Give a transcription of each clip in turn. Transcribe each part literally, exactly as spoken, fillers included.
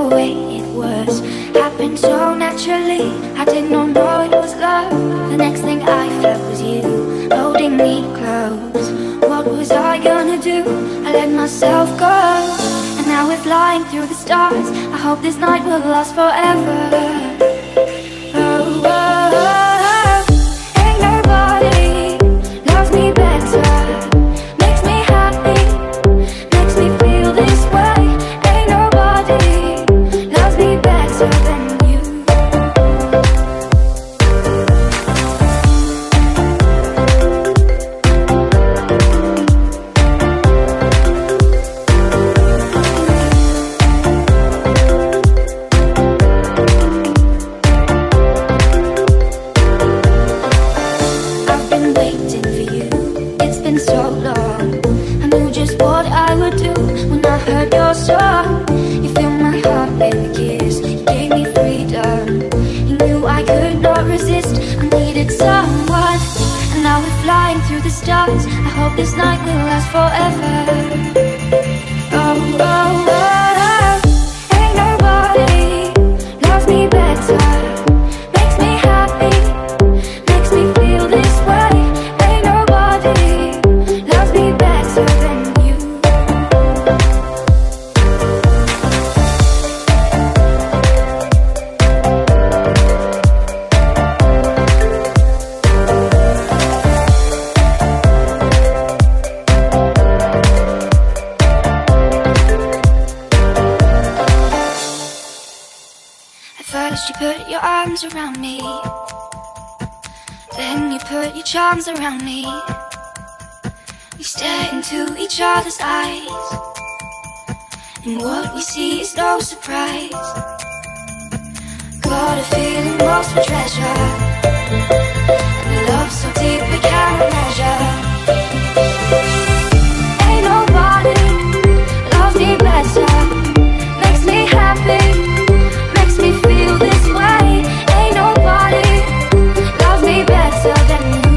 way it was. Happened so naturally, I did not know it was love. The next thing I felt was you, holding me close. What was I gonna do? I let myself go. And now we're flying through the stars. I hope this night will last forever. Oh, oh, oh. Ain't nobody loves me better. Makes me happy, makes me feel this way. Ain't nobody loves me better than you. I've been waiting for you, it's been so long. I knew just what I would do when I heard your song. You filled my heart with a kiss, you gave me freedom. You knew I could not resist, I needed someone. And now we're flying through the stars. I hope this night will last forever. Oh, oh, oh, oh. Ain't nobody loves me better. Makes me happy, makes me feel this way. Ain't nobody loves me better than you. At first you put your arms around me, then you put your charms around me. We stare into each other's eyes, and what we see is no surprise. Got a feeling lost for treasure, and a love so deep we can't measure. Ain't nobody loves me better. Makes me happy, makes me feel this way. Ain't nobody loves me better than you.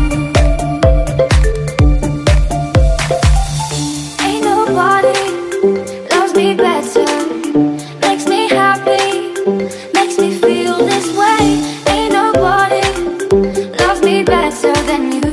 Ain't nobody loves me better. Makes me happy, makes me feel this way. Ain't nobody loves me better than you.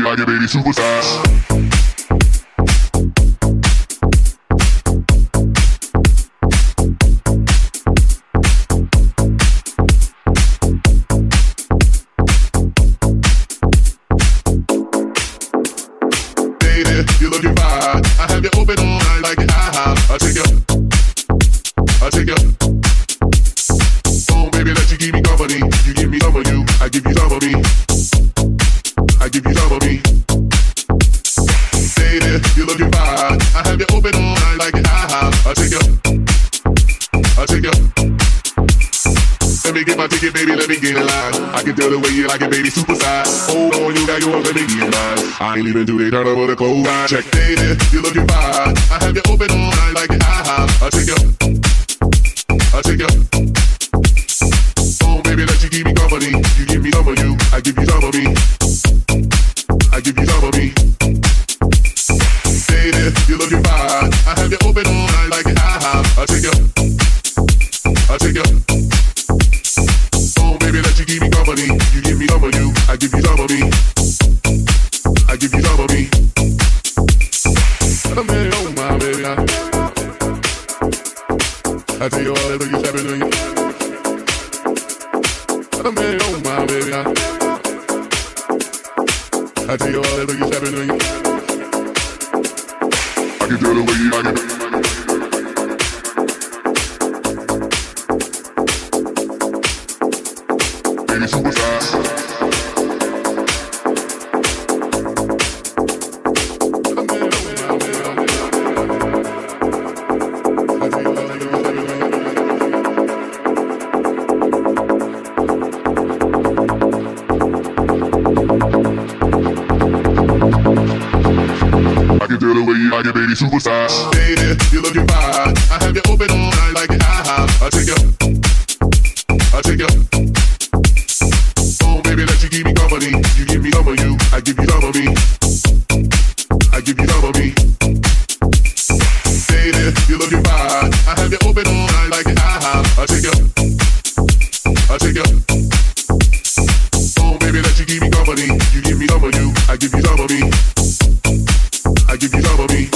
you like it, baby, supersize. You're looking fine. I have you open all night like an IHOP. I'll take you. I'll take you. Oh, baby, let you keep me company. You give me some of you. I give you some of me. I give you some of me. Baby, you're looking fine. I have you open all night like an IHOP. I'll take you. I'll take you. Let me get my ticket, baby, let me get in line. I can tell the way you like it, baby, supersize. Hold on, you got yours, let me get mine. I ain't leaving till they turn over the clothes. Check, baby, you're looking fine. I have you open all night like an IHOP. I'll take you. I'll take you. Oh, baby, let you keep me company. You give me some of you, I give you some of me. I give you some of me. Baby, you're looking fine. I have you open all night like an IHOP. I'll take you. I'll take you. Baby, let you keep me company. You give me some of you, I give you some of me. I give you some of me. I'm ready, oh my baby. I, I tell you all that you stepping on you. I'm ready, oh my baby. I, I tell you all that you stepping on you. I can tell the way you like it. Baby, supersize. I can tell the way you like it, baby, supersize. Baby, you're looking fine. I have you open all night like an IHOP. I'll take you. I'll take you. Baby, let you keep me company. You give me some of you, I give you some of me. I give you some of me. Baby, you're looking fine. I have you open all night like an IHOP. I'll take you. I'll take you. Oh, baby, let you keep me company. You give me some of you, I give you some of me. I give you some of me.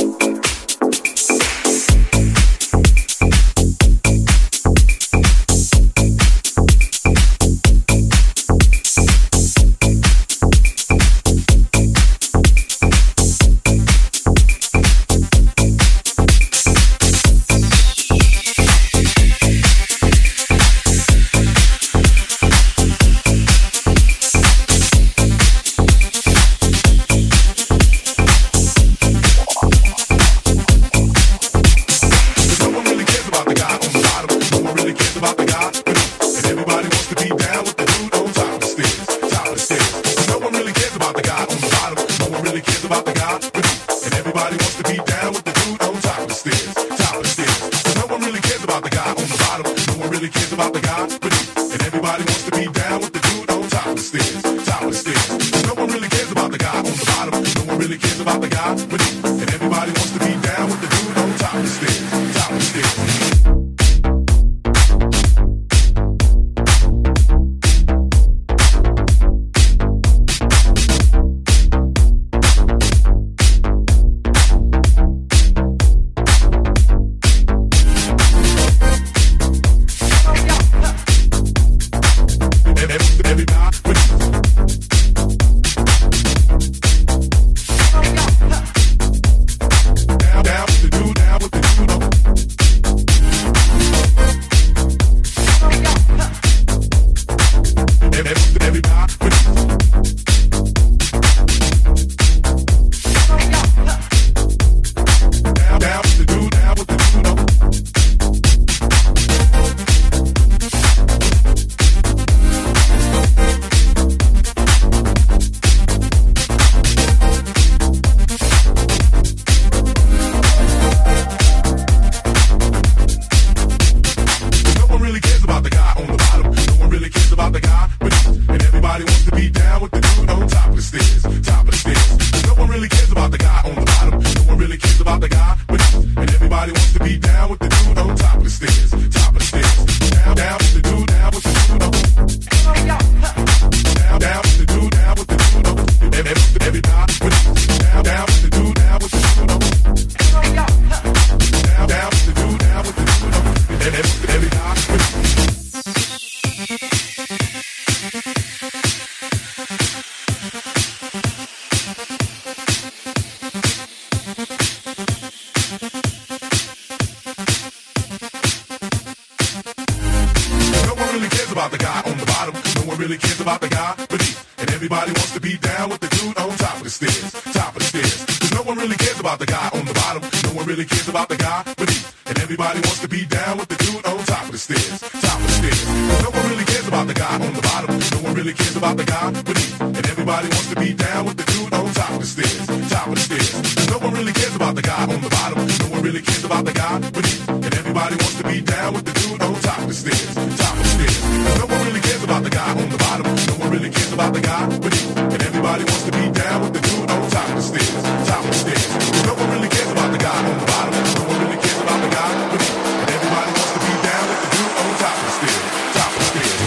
really cares about the guy beneath. And everybody wants to be down with the dude on top of the stairs, top of the stairs. Cause no one really cares about the guy on the bottom. No one really cares about the guy beneath. And everybody wants to be down with the dude on top of the stairs, top of the stairs. Cause no one really cares about the guy on the bottom. No one really cares about the guy beneath. And everybody wants to be down with the dude on top of the stairs, top of the stairs. Cause no one really cares about the guy on the bottom. No one really cares about the guy beneath. And everybody wants to be down with the dude on top of the stairs, top of the stairs. Cause no one really cares about the guy on the bottom. No one really cares about the guy beneath. And everybody wants to be down with the dude on top of the stairs, top of the stairs. Cause no one really cares about the guy on the bottom. No one really cares about the guy beneath. And everybody wants to be down with the dude on top of the stairs, top of the stairs.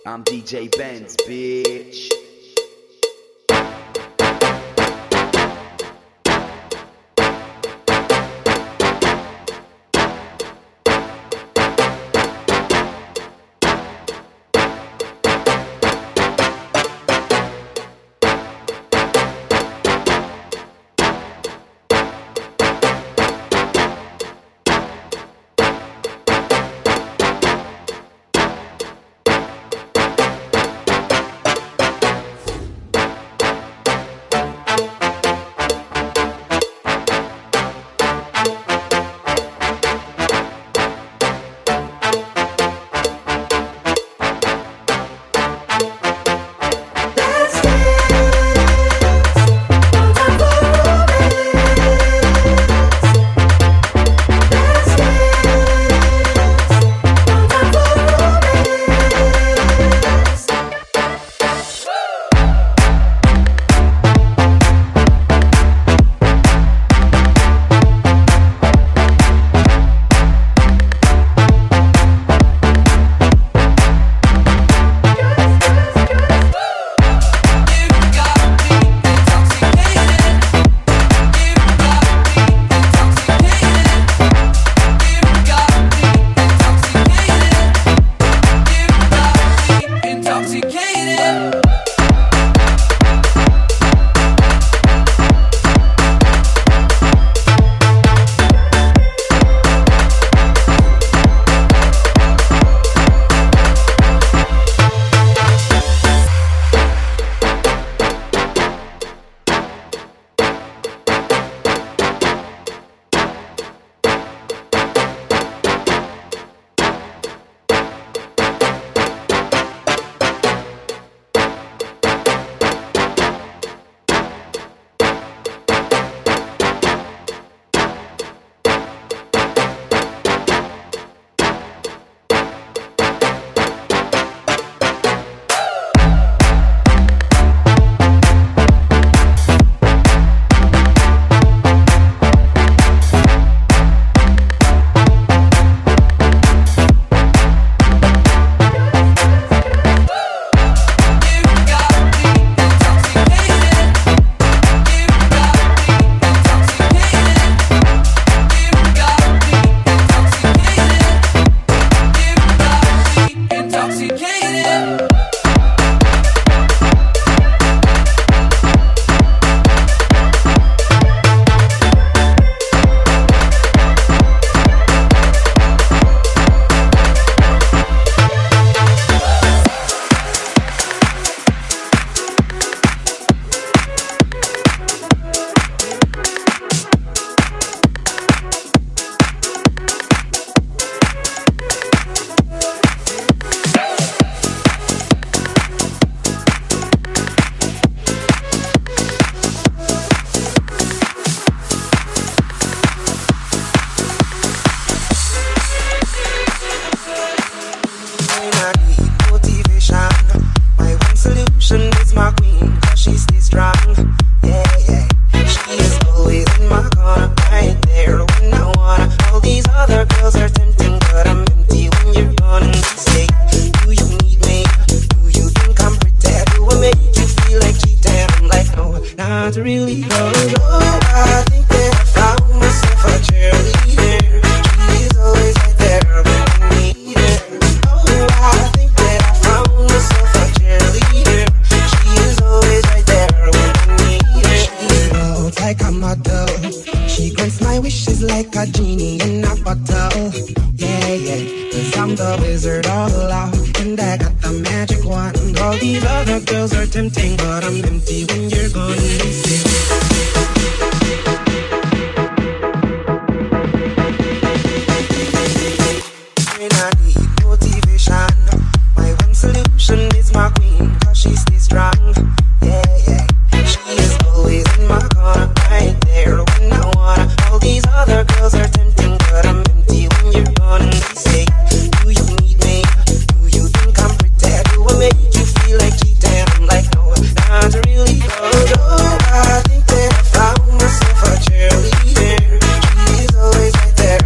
I'm D J Benz, bitch.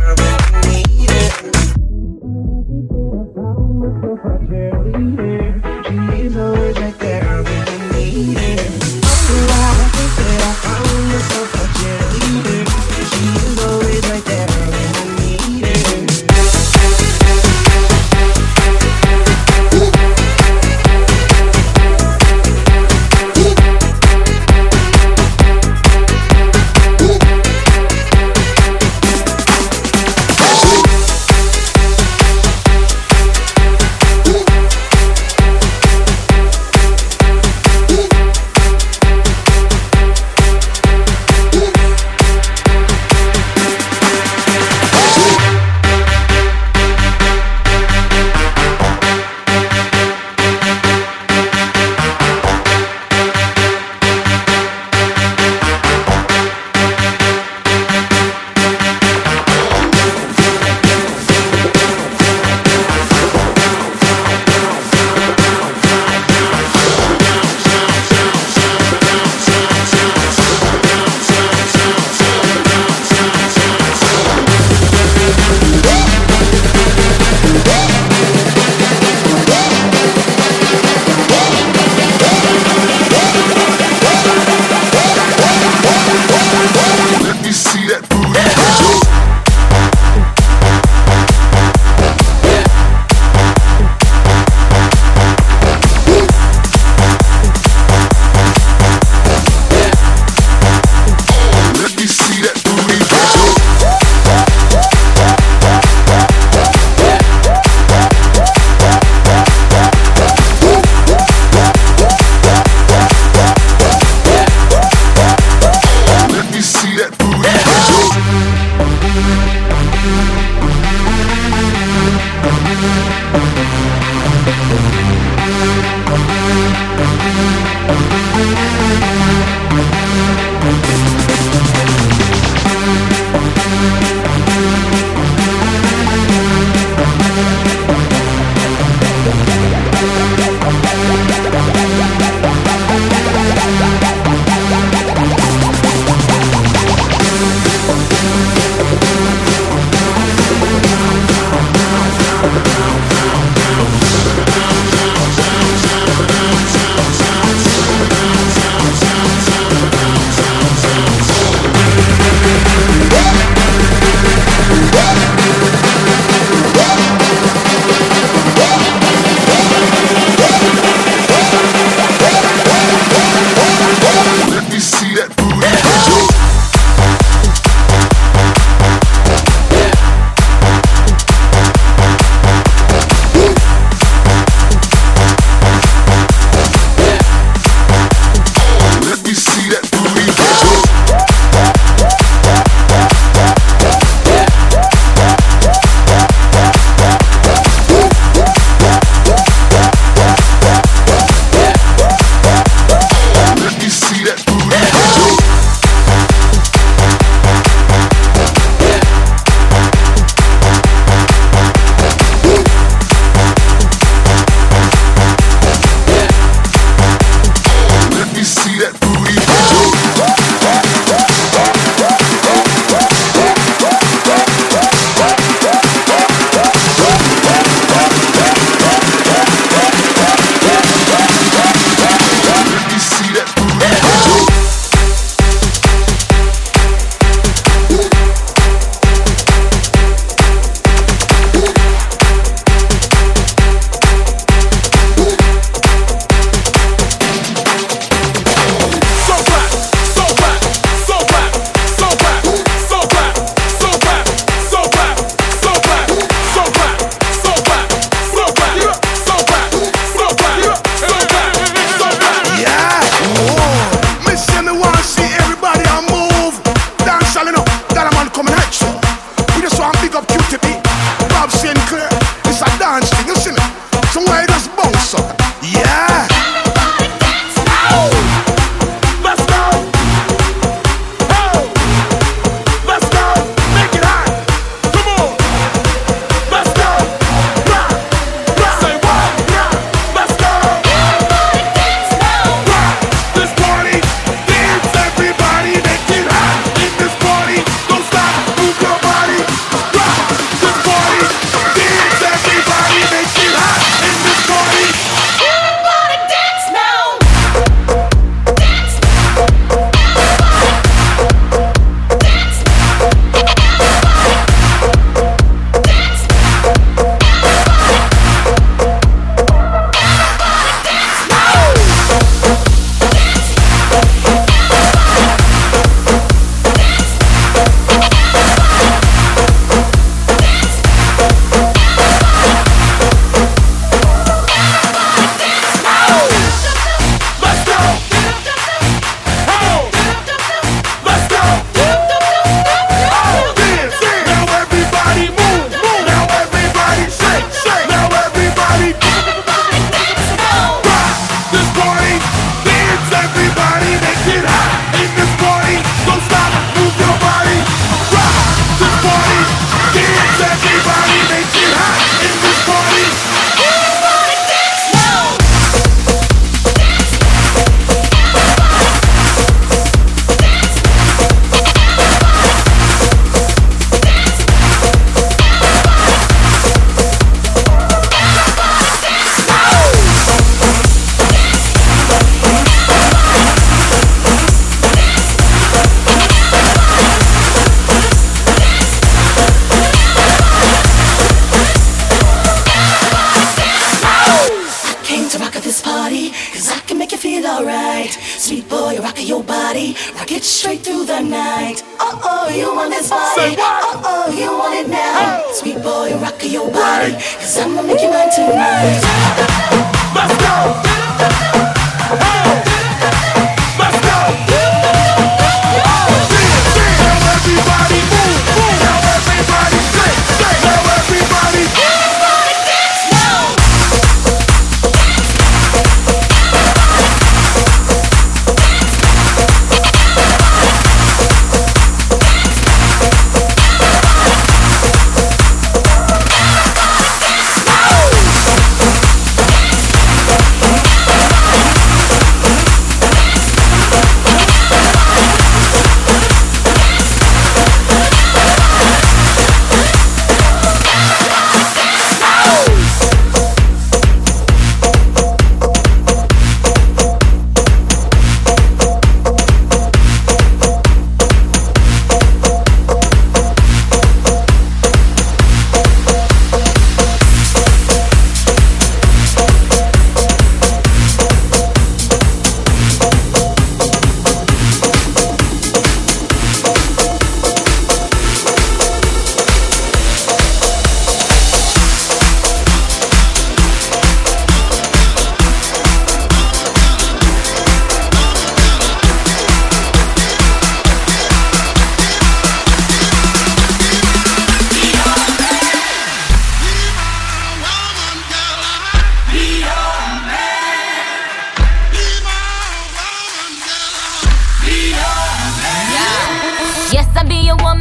cheerleader.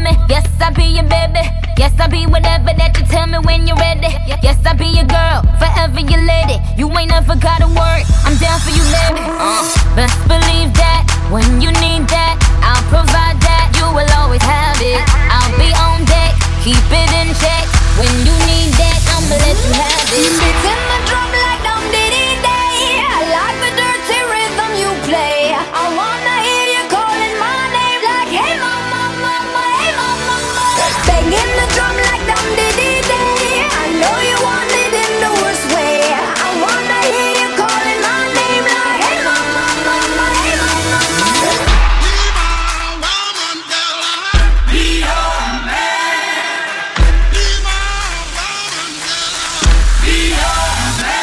me. Yes, I'll be your baby. Yes, I'll be whatever that you tell me when you're ready. Yes, I'll be your girl, forever your lady. You ain't never gotta worry, I'm down for you, baby. Uh, best believe that when you need that, I'll provide that. You will always have it. I'll be on deck, keep it in check. When you need that, I'ma let you have it. Beating my drum like dum diddy day. I like the dirty rhythm you play. I wanna hear you calling my name like hey mama, mama, hey mama, mama. Banging the drum like dum diddy day. I know you want it in the worst way. I wanna hear you calling my name like hey mama, mama, hey mama, mama. Be my woman, girl. Be your man. Be my woman, girl. Be your man.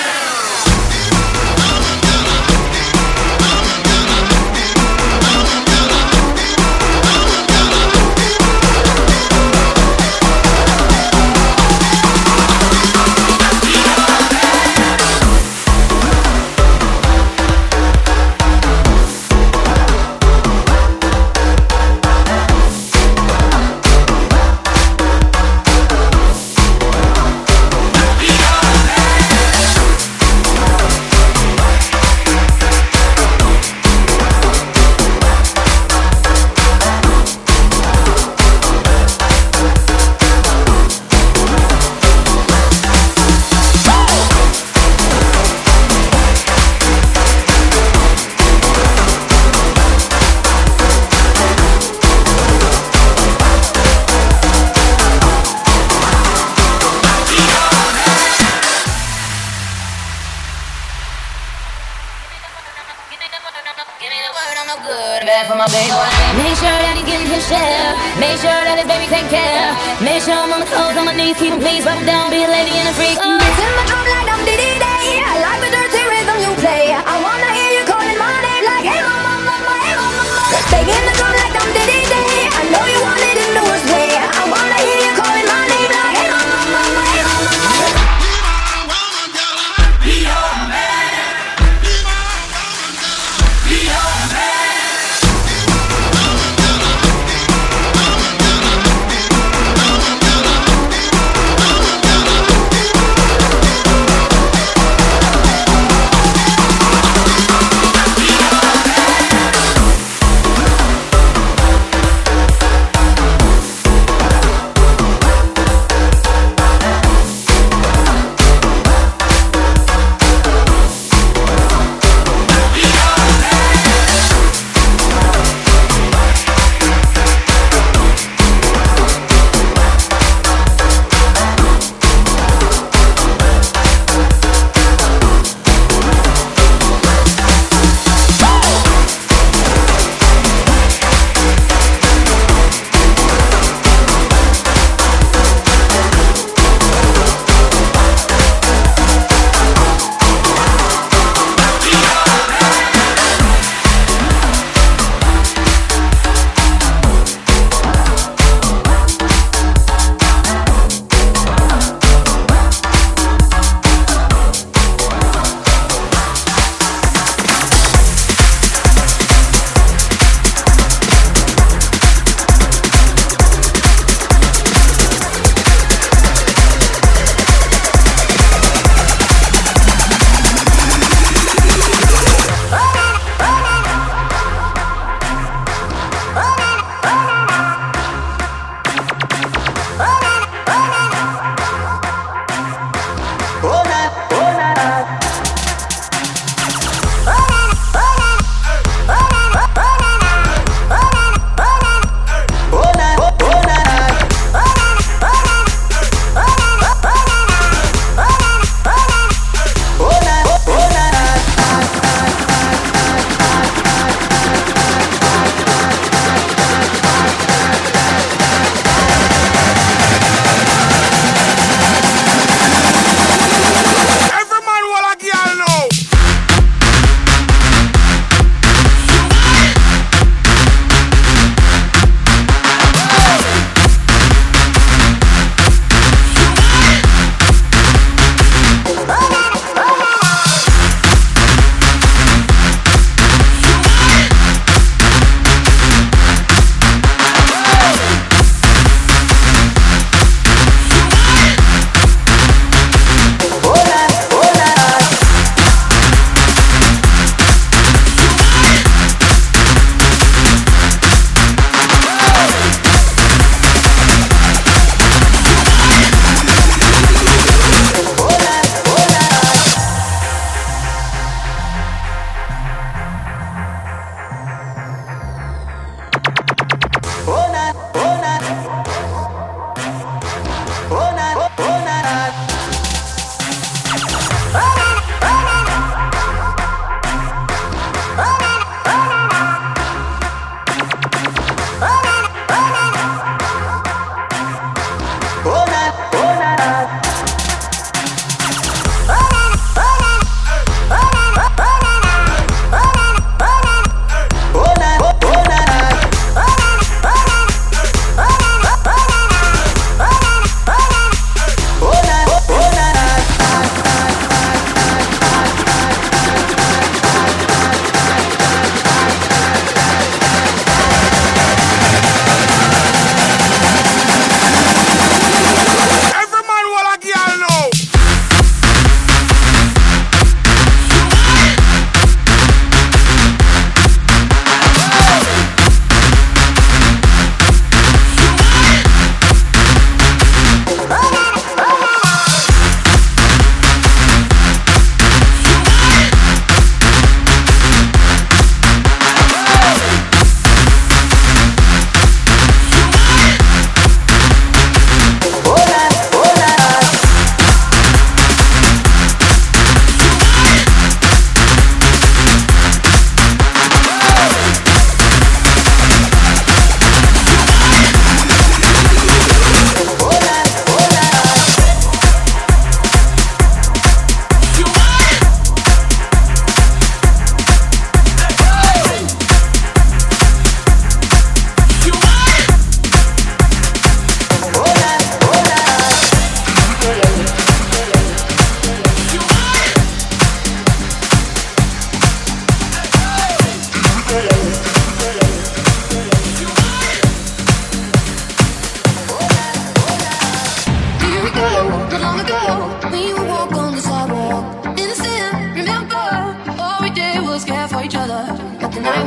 Make sure that he's getting his share. Make sure that his baby take care. Make sure I'm on the clothes on my knees, keep him please, rub him down, be a lady and a freak. Oh. Beating my drum like dum diddy day. I like the dirty rhythm you play. I wanna hear you calling my name like hey mama, mama, hey mama, mama. Banging the drum like dum diddy day. I know you want it in the worst way. I wanna hear you calling my name like hey mama, mama, hey mama, mama. Be your man. Be my woman, girl. Be your man. Beating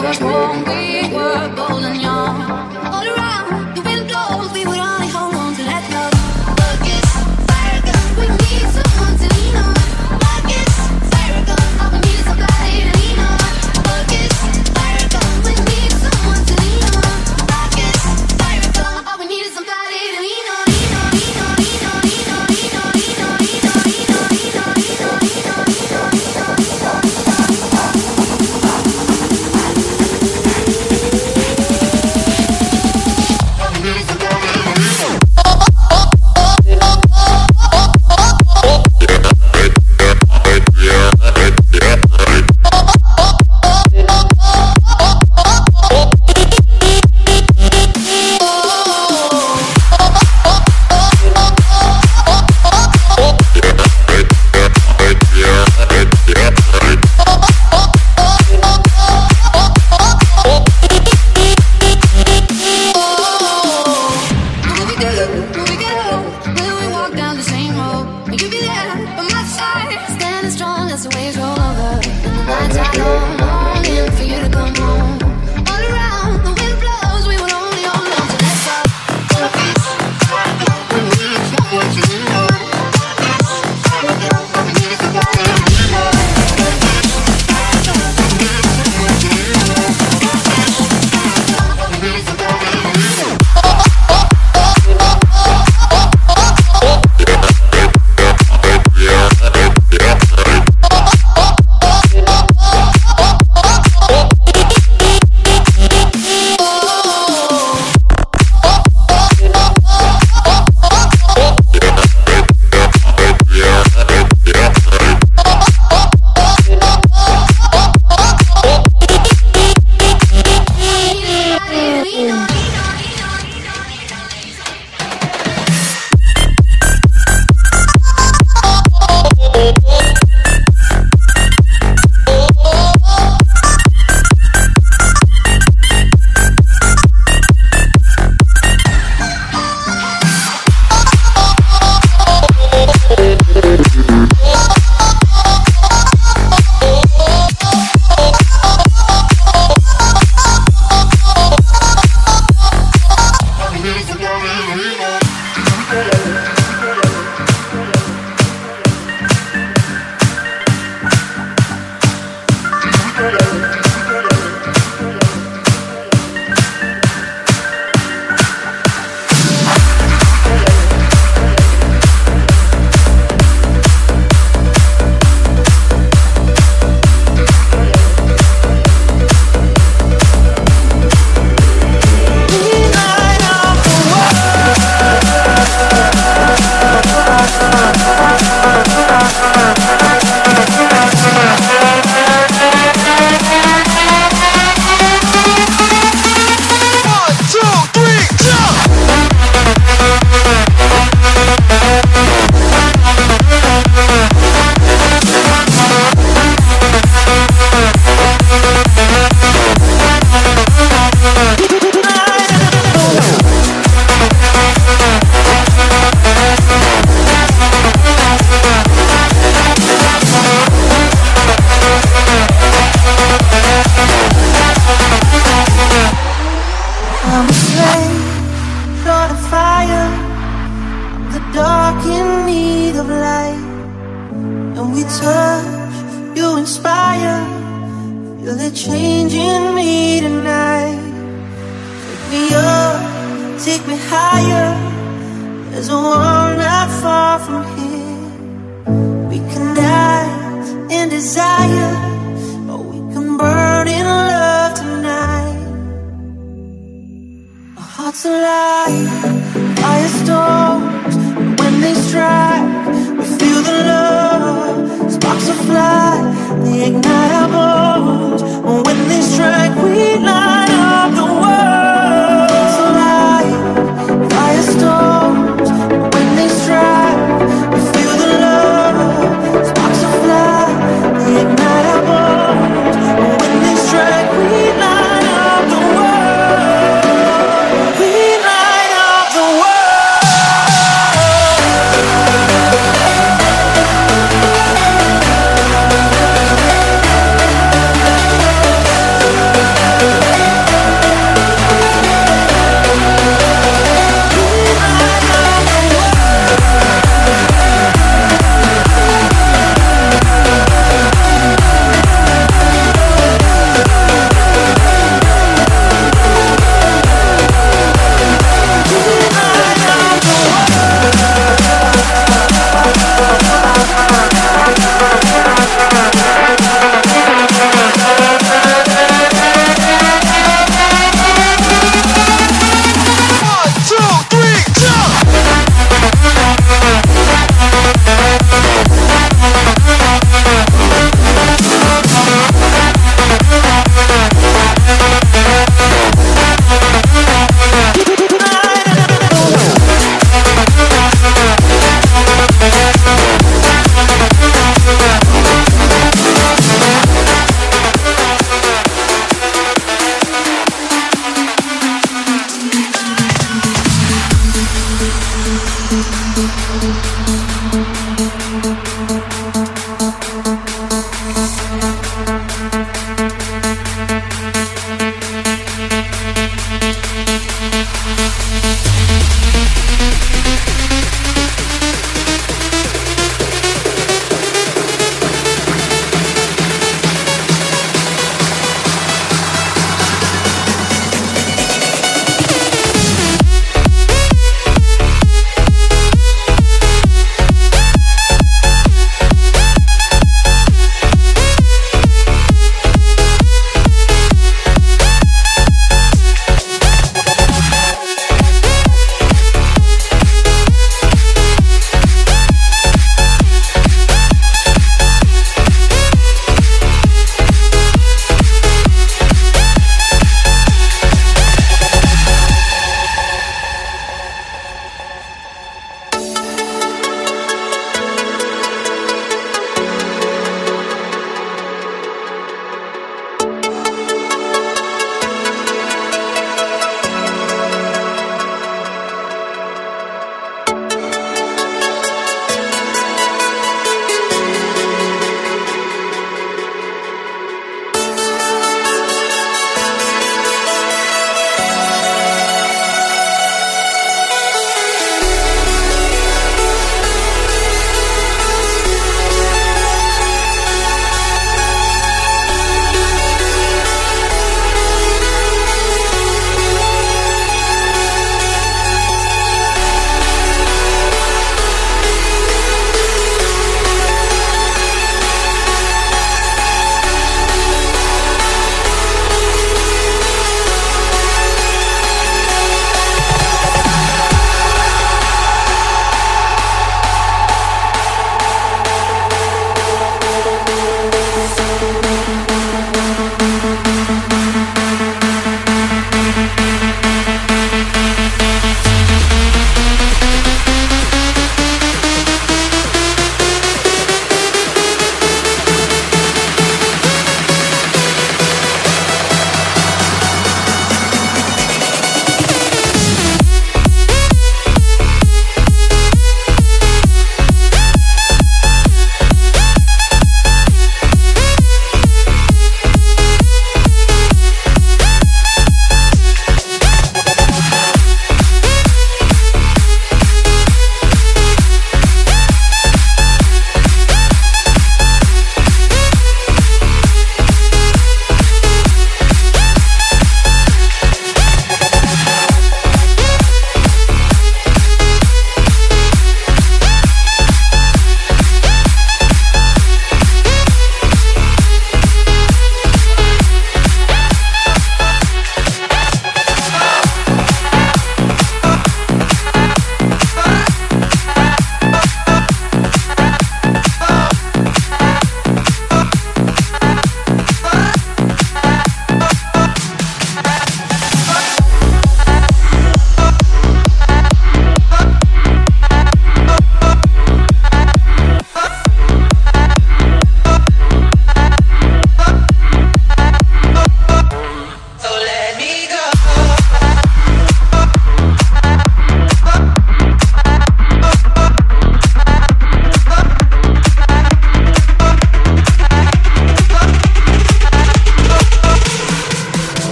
were strong, we were bold and young. All around, the wind blows, we would only hold on to that love. Buckets, fire gun, we need someone to lean on. Buckets, fire gun, all we need is somebody to lean on. Buckets, fire gun, we need someone to lean on. Buckets, fire gun, all we need is somebody to lean on. Lean on, lean on, lean on, lean on, lean on, lean on, lean on, lean on, lean on, lean on, lean on, lean on, lean on, lean on.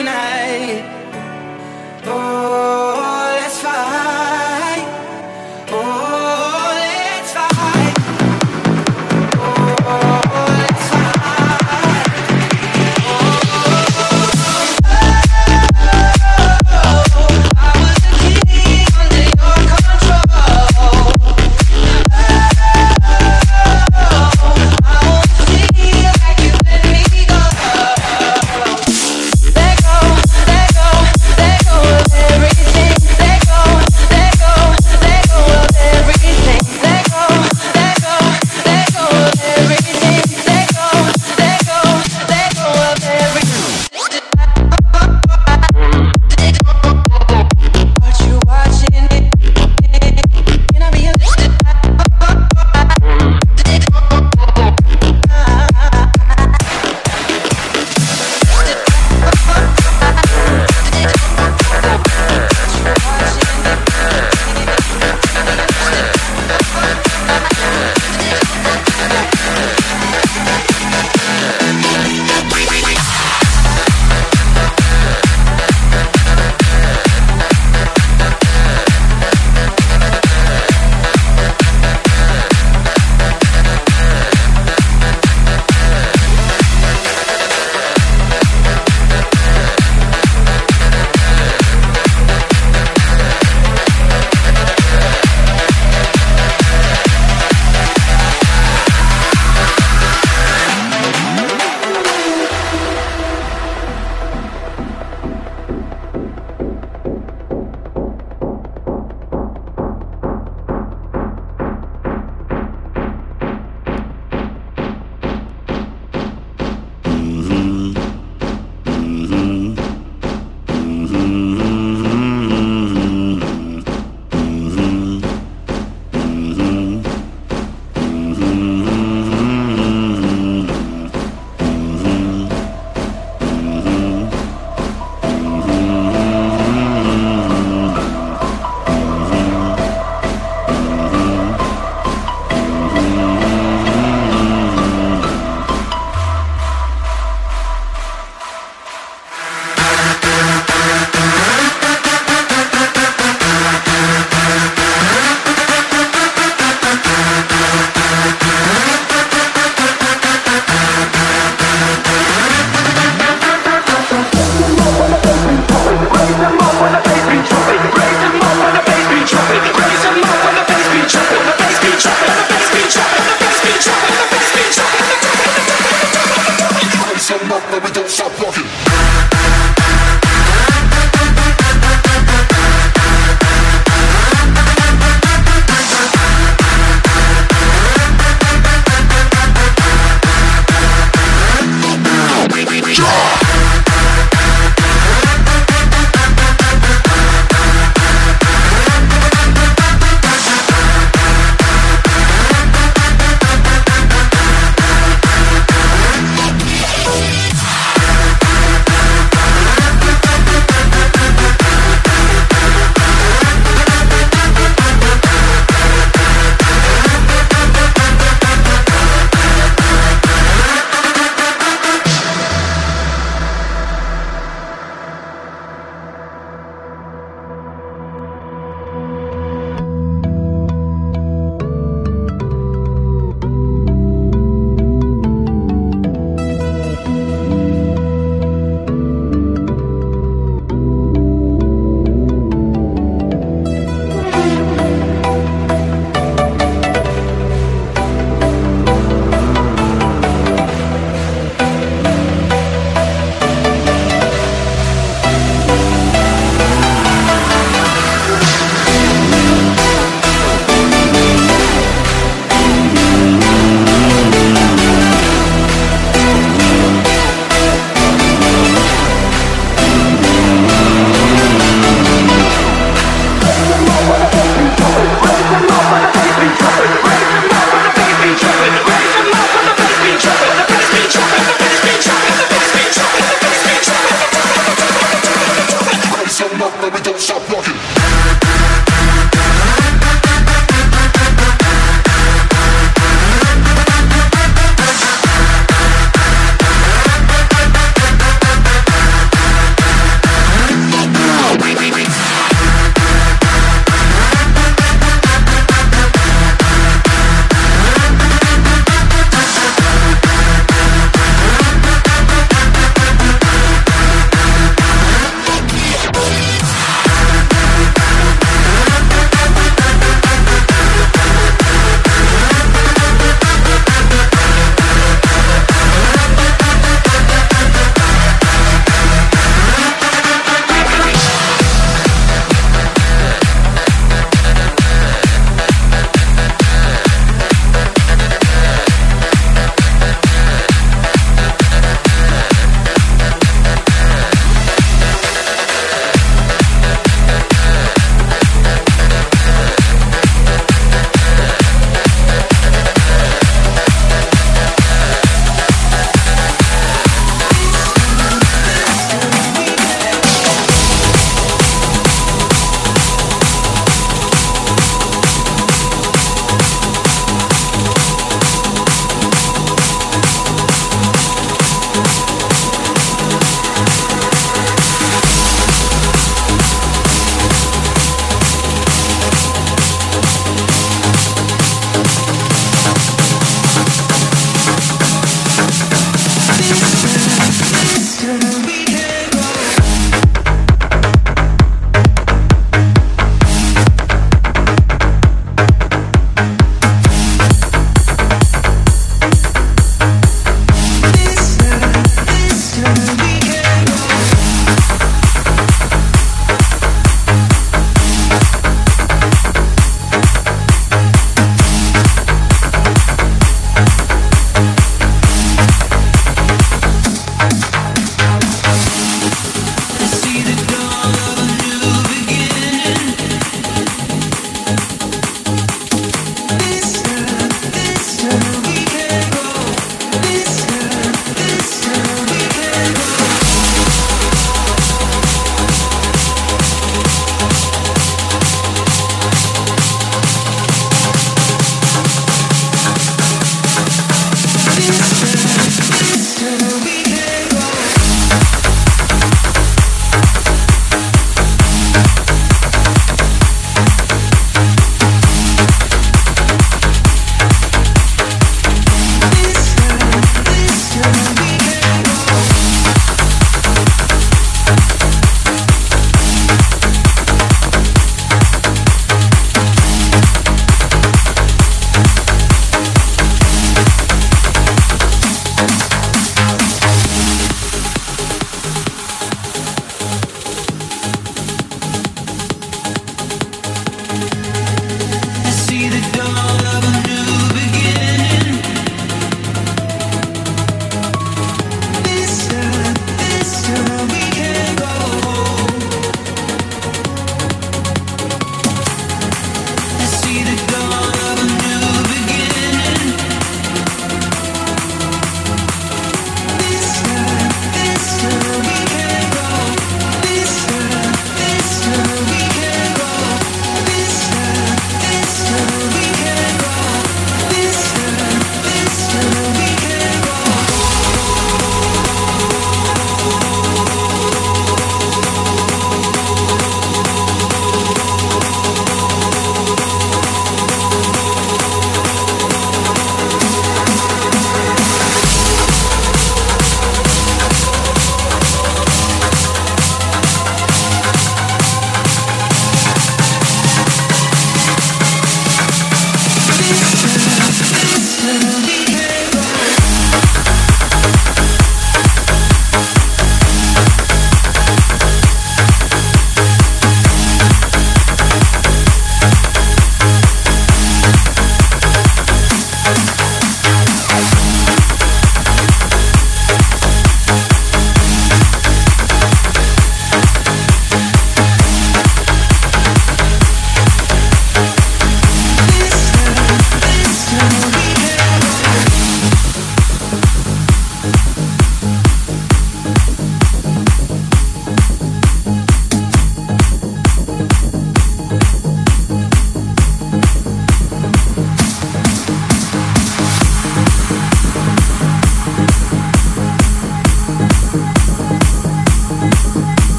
tonight. Oh, let's fight. Oh, let's fight. Oh, let's fight. I was a king under your control. I won't feel like you let me go. Let go, let go, let go of everything.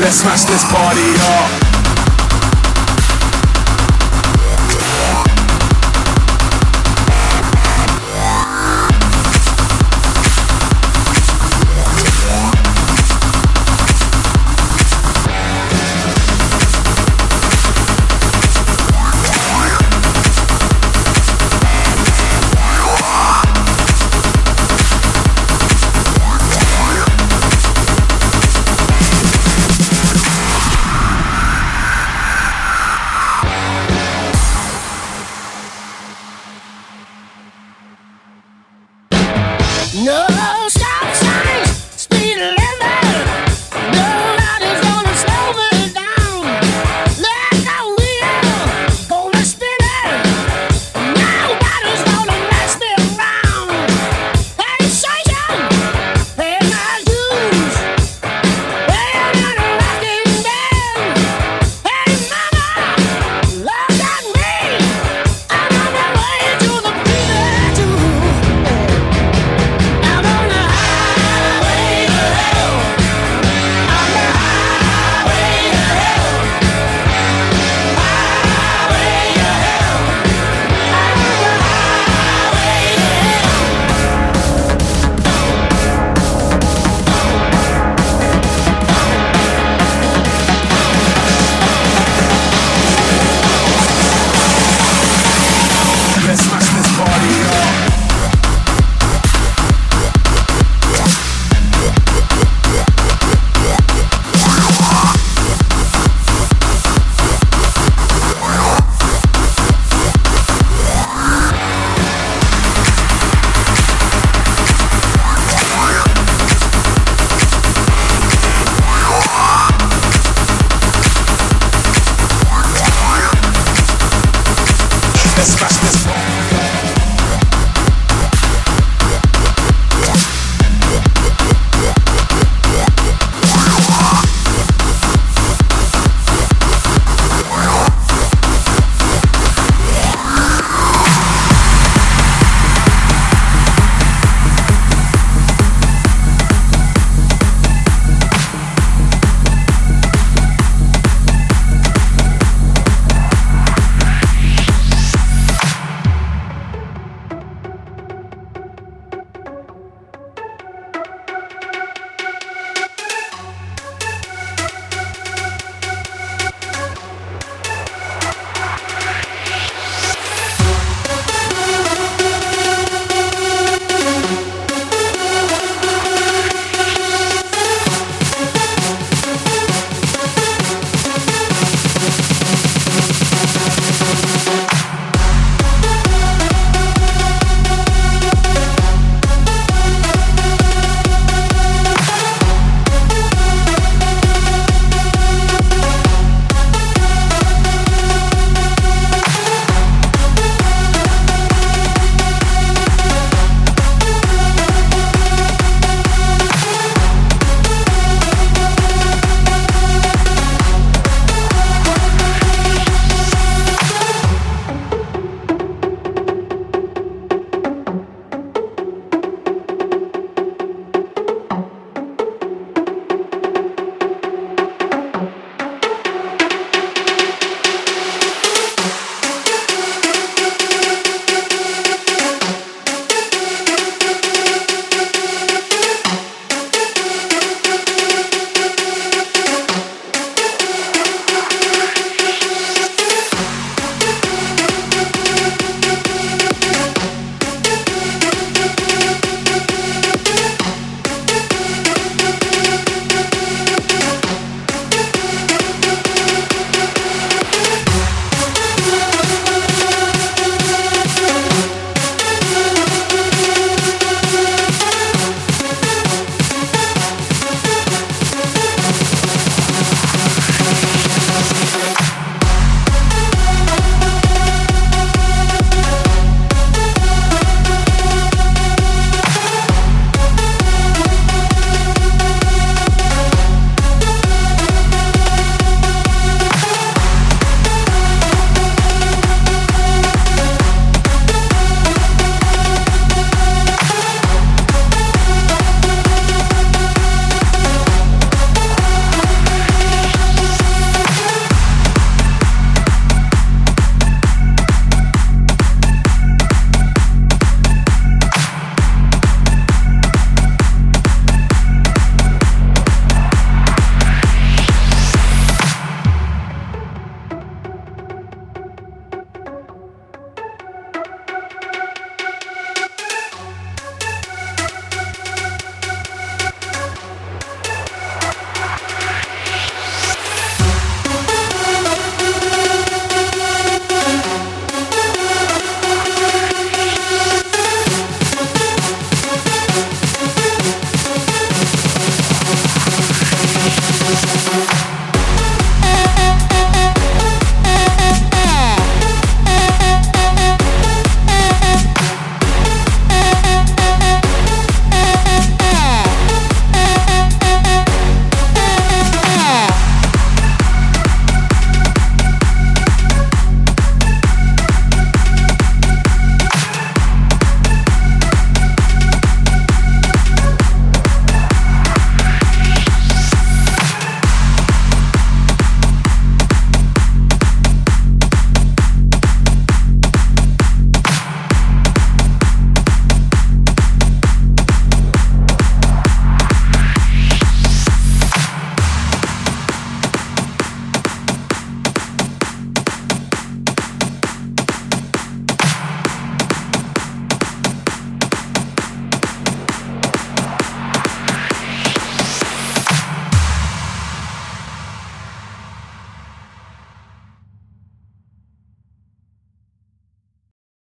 let's smash this party up.